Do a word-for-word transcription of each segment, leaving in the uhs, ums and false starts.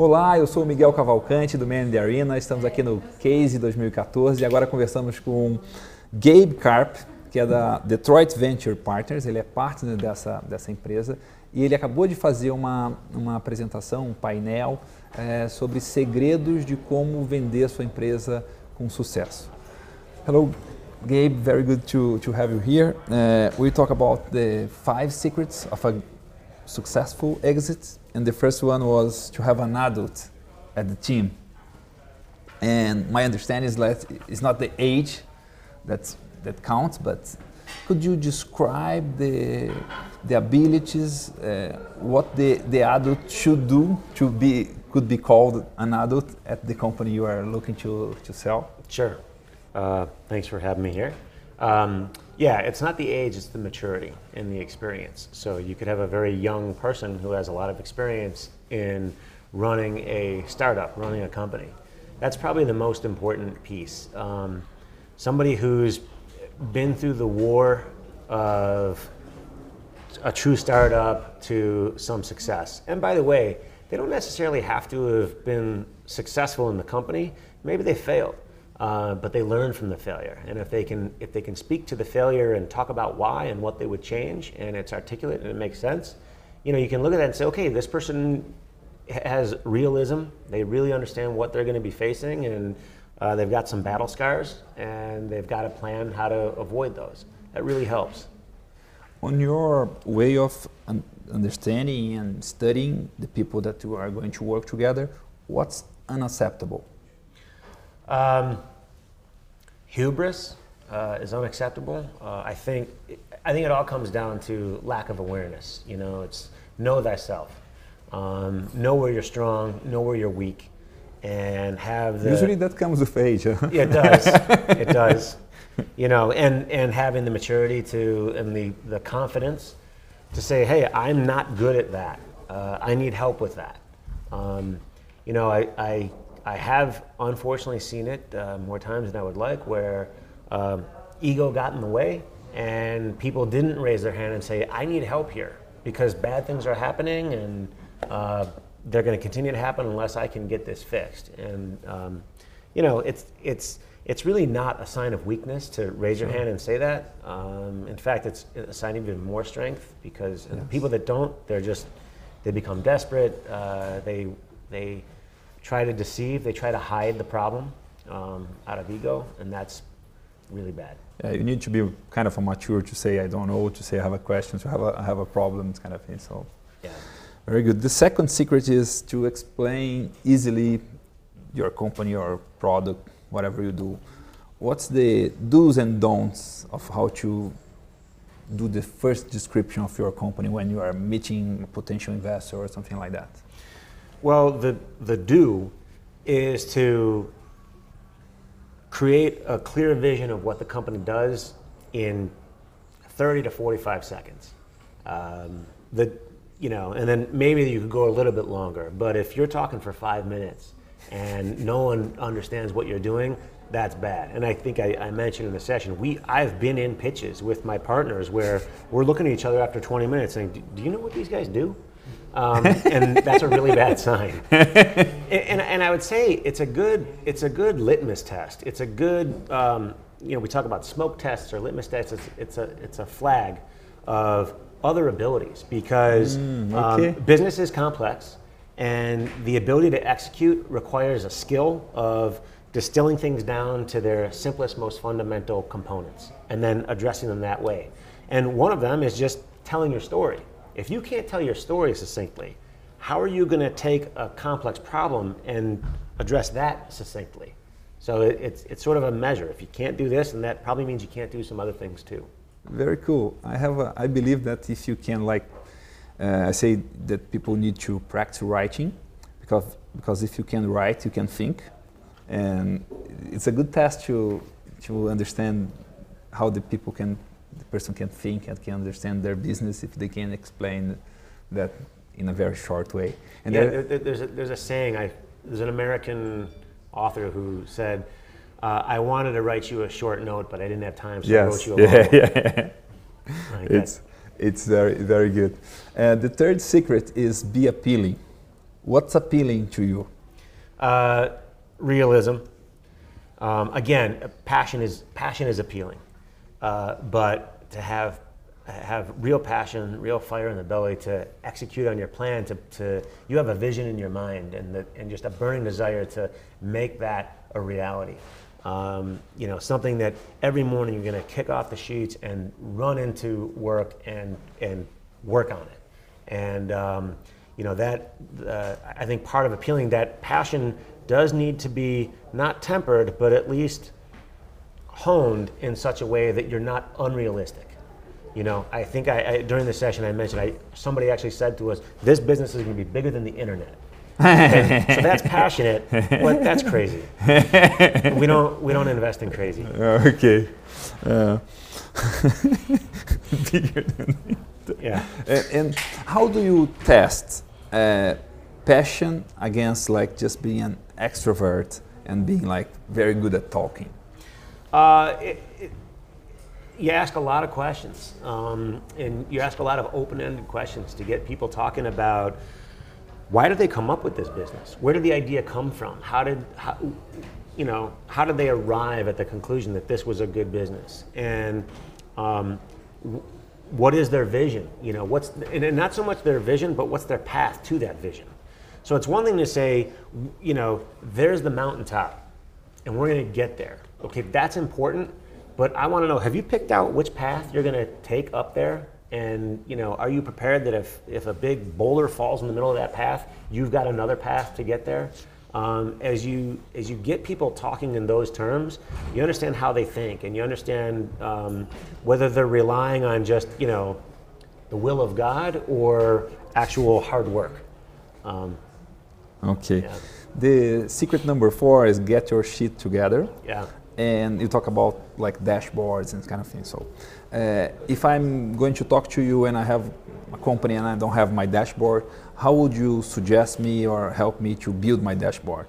Olá, eu sou o Miguel Cavalcante do Man in the Arena, estamos aqui no Case dois mil e quatorze e agora conversamos com Gabe Karp, que é da Detroit Venture Partners, ele é partner dessa, dessa empresa e ele acabou de fazer uma, uma apresentação, um painel é, sobre segredos de como vender a sua empresa com sucesso. Hello Gabe, very good to, to have you here. Uh, we talk about the five secrets of a successful exit, and the first one was to have an adult at the team. And my understanding is that it's not the age that's, that counts, but could you describe the, the abilities, uh, what the, the adult should do to be, could be called an adult at the company you are looking to, to sell? Sure. Uh, thanks for having me here. Um, yeah, it's not the age, it's the maturity and the experience. So you could have a very young person who has a lot of experience in running a startup, running a company. That's probably the most important piece. Um, somebody who's been through the war of a true startup to some success. And by the way, they don't necessarily have to have been successful in the company. Maybe they failed. Uh, but they learn from the failure, and if they can if they can speak to the failure and talk about why and what they would change, and it's articulate and it makes sense, you know, you can look at that and say, okay, this person has realism. They really understand what they're going to be facing, and uh, they've got some battle scars, and they've got a plan how to avoid those. That really helps. On your way of un understanding and studying the people that you are going to work together, what's unacceptable? Um, hubris uh, is unacceptable. Uh, I think I think it all comes down to lack of awareness. You know, it's know thyself, um, know where you're strong, know where you're weak, and have the. Usually that comes with age. Huh? Yeah, it does. It does. You know, and and having the maturity to and the the confidence to say, hey, I'm not good at that. Uh, I need help with that. Um, you know, I. I I have unfortunately seen it uh, more times than I would like, where um, ego got in the way and people didn't raise their hand and say, I need help here because bad things are happening and uh, they're going to continue to happen unless I can get this fixed. And um, you know, it's it's it's really not a sign of weakness to raise your hand and say that. Um, in fact, it's a sign of even more strength because yes. people that don't, they're just they become desperate. Uh, they they. try to deceive, they try to hide the problem um, out of ego, and that's really bad. Yeah, you need to be kind of a mature to say I don't know, to say I have a question, to have a, I have a problem, kind of thing. So, yeah. Very good. The second secret is to explain easily your company or product, whatever you do. What's the do's and don'ts of how to do the first description of your company when you are meeting a potential investor or something like that? Well, the, the do is to create a clear vision of what the company does in thirty to forty-five seconds. Um, the, you know, and then maybe you could go a little bit longer, but if you're talking for five minutes and no one understands what you're doing, that's bad. And I think I, I mentioned in the session, we, I've been in pitches with my partners where we're looking at each other after twenty minutes saying, do, do you know what these guys do? Um, and that's a really bad sign. and, and I would say it's a good it's a good litmus test. It's a good um, you know, we talk about smoke tests or litmus tests. It's, it's a it's a flag of other abilities because mm, okay. um, business is complex, and the ability to execute requires a skill of distilling things down to their simplest, most fundamental components, and then addressing them that way. And one of them is just telling your story. If you can't tell your story succinctly, how are you going to take a complex problem and address that succinctly? So it, it's, it's sort of a measure. If you can't do this, then that probably means you can't do some other things too. Very cool. I have a, I believe that if you can, like, uh, I say that people need to practice writing, because because if you can write, you can think, and it's a good test to to understand how the people can. The person can think and can understand their business if they can explain that in a very short way. And yeah, there, there's, a, there's a saying, I, there's an American author who said, uh, I wanted to write you a short note, but I didn't have time, so yes. I wrote you a long yeah, yeah. Like it's, it's very, very good. Uh, the third secret is be appealing. What's appealing to you? Uh, realism. Um, again, passion is passion is appealing, uh, but to have have real passion, real fire in the belly to execute on your plan, to, to you have a vision in your mind and the, and just a burning desire to make that a reality. Um, you know, something that every morning you're going to kick off the sheets and run into work and and work on it. And um, you know that uh, I think part of appealing, that passion does need to be not tempered, but at least honed in such a way that you're not unrealistic. You know, I think I, I during the session I mentioned I somebody actually said to us, "This business is going to be bigger than the internet." And so that's passionate, but that's crazy. We don't we don't invest in crazy. Okay. Uh, bigger than yeah. And, and how do you test uh, passion against like just being an extrovert and being like very good at talking? Uh, it, it, you ask a lot of questions, um, and you ask a lot of open-ended questions to get people talking about why did they come up with this business? Where did the idea come from? How did, how, you know, how did they arrive at the conclusion that this was a good business? And um, w- what is their vision? You know, what's and, and not so much their vision, but what's their path to that vision? So it's one thing to say, you know, there's the mountaintop, and we're going to get there. Okay, that's important, but I want to know: have you picked out which path you're going to take up there? And you know, are you prepared that if, if a big boulder falls in the middle of that path, you've got another path to get there? Um, as you as you get people talking in those terms, you understand how they think, and you understand um, whether they're relying on just you know the will of God or actual hard work. Um, okay. Yeah. The secret number four is get your shit together. Yeah. And you talk about like dashboards and kind of thing. So uh, if I'm going to talk to you and I have a company and I don't have my dashboard, how would you suggest me or help me to build my dashboard?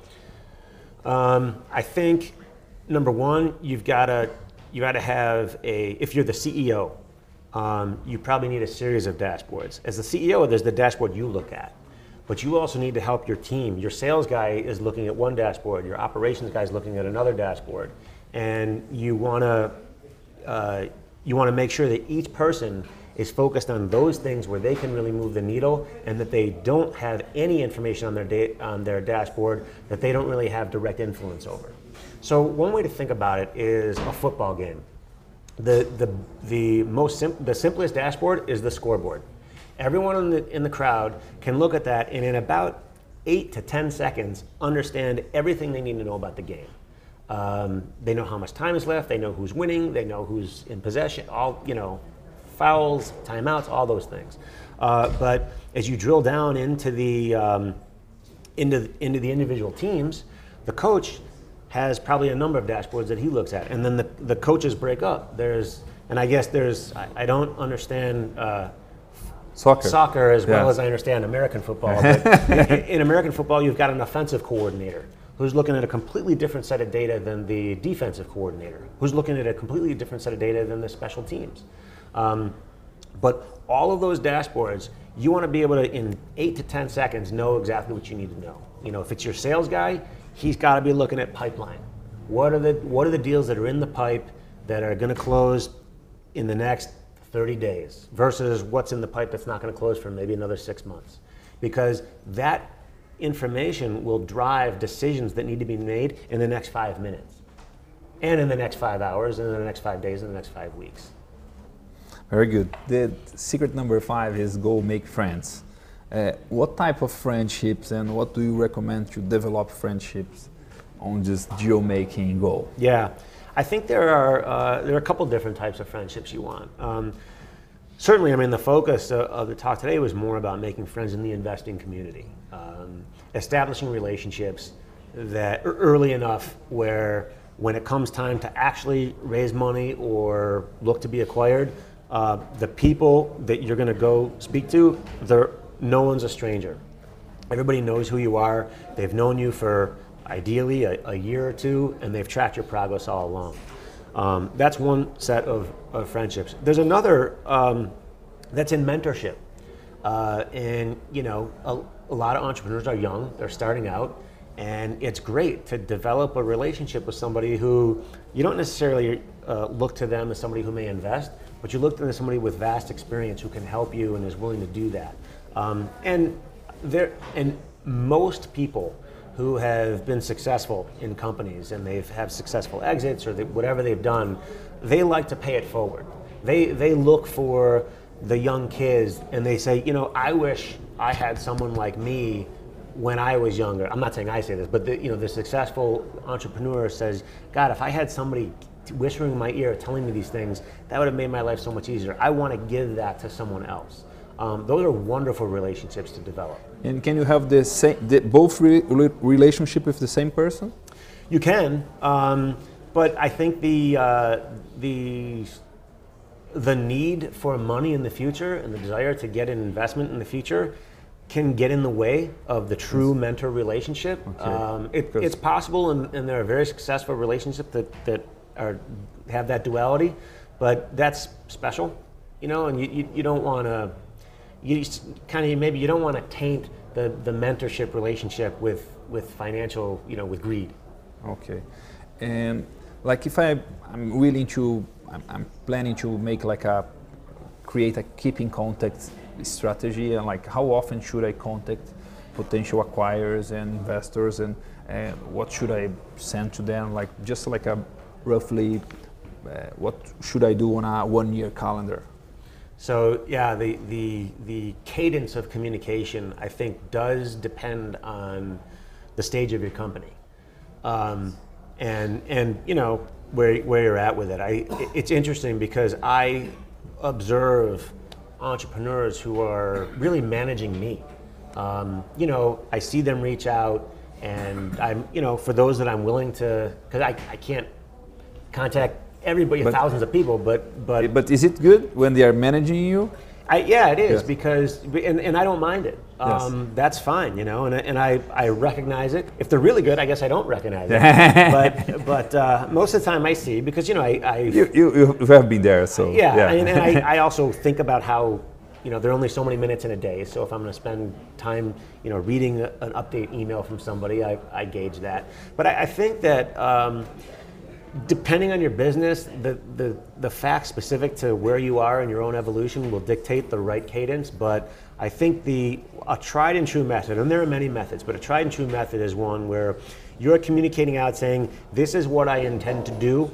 Um, I think number one, you've got to you got to have a. If you're the C E O, um, you probably need a series of dashboards. As the C E O, there's the dashboard you look at, but you also need to help your team. Your sales guy is looking at one dashboard. Your operations guy is looking at another dashboard. And you want to uh, you want to make sure that each person is focused on those things where they can really move the needle, and that they don't have any information on their da- on their dashboard that they don't really have direct influence over. So one way to think about it is a football game. The the the most sim- the simplest dashboard is the scoreboard. Everyone in the in the crowd can look at that and in about eight to ten seconds understand everything they need to know about the game. Um, they know how much time is left. They know who's winning. They know who's in possession. All you know, fouls, timeouts, all those things. Uh, but as you drill down into the um, into into the individual teams, the coach has probably a number of dashboards that he looks at, and then the the coaches break up. There's and I guess there's I, I don't understand uh, soccer soccer as well yeah. as I understand American football. But in, in American football, you've got an offensive coordinator who's looking at a completely different set of data than the defensive coordinator, who's looking at a completely different set of data than the special teams. Um, but all of those dashboards, you want to be able to, in eight to ten seconds, know exactly what you need to know. You know, if it's your sales guy, he's got to be looking at pipeline. What are the what are the deals that are in the pipe that are going to close in the next thirty days versus what's in the pipe that's not going to close for maybe another six months? Because that information will drive decisions that need to be made in the next five minutes and in the next five hours and in the next five days and the next five weeks. Very good. The secret number five is go make friends. Uh, what type of friendships and what do you recommend to develop friendships on this deal making goal? Yeah, I think there are uh, there are a couple different types of friendships you want. Um, Certainly, I mean, the focus of, of the talk today was more about making friends in the investing community, um, establishing relationships that are early enough where when it comes time to actually raise money or look to be acquired, uh, the people that you're going to go speak to, they're, no one's a stranger. Everybody knows who you are. They've known you for ideally a, a year or two, and they've tracked your progress all along. Um, that's one set of, of friendships. There's another um, that's in mentorship. Uh, and you know, a, a lot of entrepreneurs are young, they're starting out, and it's great to develop a relationship with somebody who you don't necessarily uh, look to them as somebody who may invest, but you look to them as somebody with vast experience who can help you and is willing to do that. Um, and there, and most people who have been successful in companies and they've have successful exits or they, whatever they've done, they like to pay it forward. They they look for the young kids and they say, you know, I wish I had someone like me when I was younger. I'm not saying I say this, but the, you know, the successful entrepreneur says, God, if I had somebody whispering in my ear telling me these things, that would have made my life so much easier. I want to give that to someone else. Um, those are wonderful relationships to develop. And can you have the same, the, both re relationship with the same person? You can, um, but I think the uh, the the need for money in the future and the desire to get an investment in the future can get in the way of the true mentor relationship. Okay. Um, it, it's possible, and, and there are very successful relationships that, that are have that duality, but that's special, you know, and you, you, you don't want to, you kind of, maybe you don't want to taint the, the mentorship relationship with, with financial, you know, with greed. Okay. And like if I, I'm willing to, I'm, I'm planning to make like a, create a keep in contact strategy, and like how often should I contact potential acquirers and investors, and uh, what should I send to them, like just like a roughly uh, what should I do on a one year calendar? So yeah, the, the, the cadence of communication I think does depend on the stage of your company. Um, and, and you know, where, where you're at with it. I, it's interesting because I observe entrepreneurs who are really managing me. Um, you know, I see them reach out, and I'm, you know, for those that I'm willing to, because I, I can't contact everybody, but, thousands of people, but but but is it good when they are managing you? I, yeah, it is, yes. because, and, and I don't mind it. Yes. Um, that's fine, you know, and, and I, I recognize it. If they're really good, I guess I don't recognize it. but but uh, most of the time I see, because, you know, I... I you, you, you have been there, so... Yeah, yeah. and, and I, I also think about how, you know, there are only so many minutes in a day, so if I'm going to spend time, you know, reading a, an update email from somebody, I, I gauge that. But I, I think that... Um, depending on your business, the, the, the facts specific to where you are in your own evolution will dictate the right cadence, but I think the a tried and true method, and there are many methods, but a tried and true method is one where you're communicating out saying, this is what I intend to do,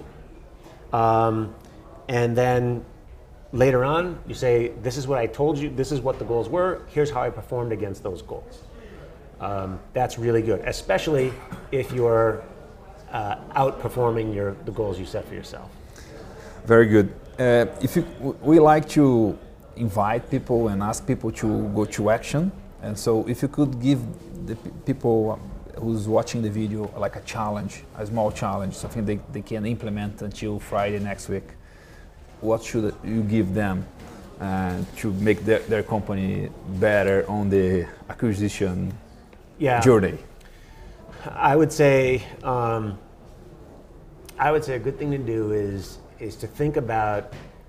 um, and then later on you say, this is what I told you, this is what the goals were, here's how I performed against those goals. Um, that's really good, especially if you're Uh, outperforming your the goals you set for yourself. Very good. Uh, if you, we like to invite people and ask people to go to action, and so if you could give the people who's watching the video like a challenge, a small challenge, something they, they can implement until Friday next week, what should you give them uh, to make their, their company better on the acquisition yeah. journey? I would say, um, I would say a good thing to do is is to think about.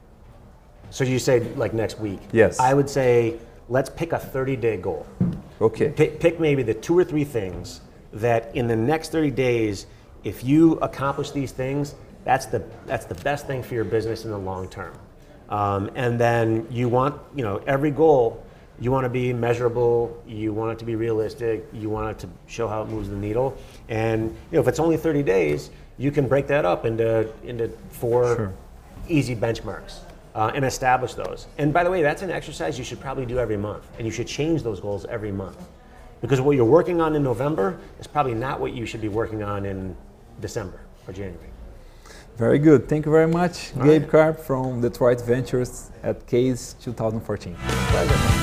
So you say like next week. Yes. I would say let's pick a thirty day goal. Okay. Pick, pick maybe the two or three things that in the next thirty days, if you accomplish these things, that's the that's the best thing for your business in the long term. Um, and then you want, you know, every goal. You want to be measurable, you want it to be realistic, you want it to show how it moves the needle. And you know, if it's only thirty days, you can break that up into, into four sure. easy benchmarks uh, and establish those. And by the way, that's an exercise you should probably do every month, and you should change those goals every month. Because what you're working on in November is probably not what you should be working on in December or January. Very good. Thank you very much, All Gabe right. Karp from Detroit Ventures at Case twenty fourteen. Pleasure.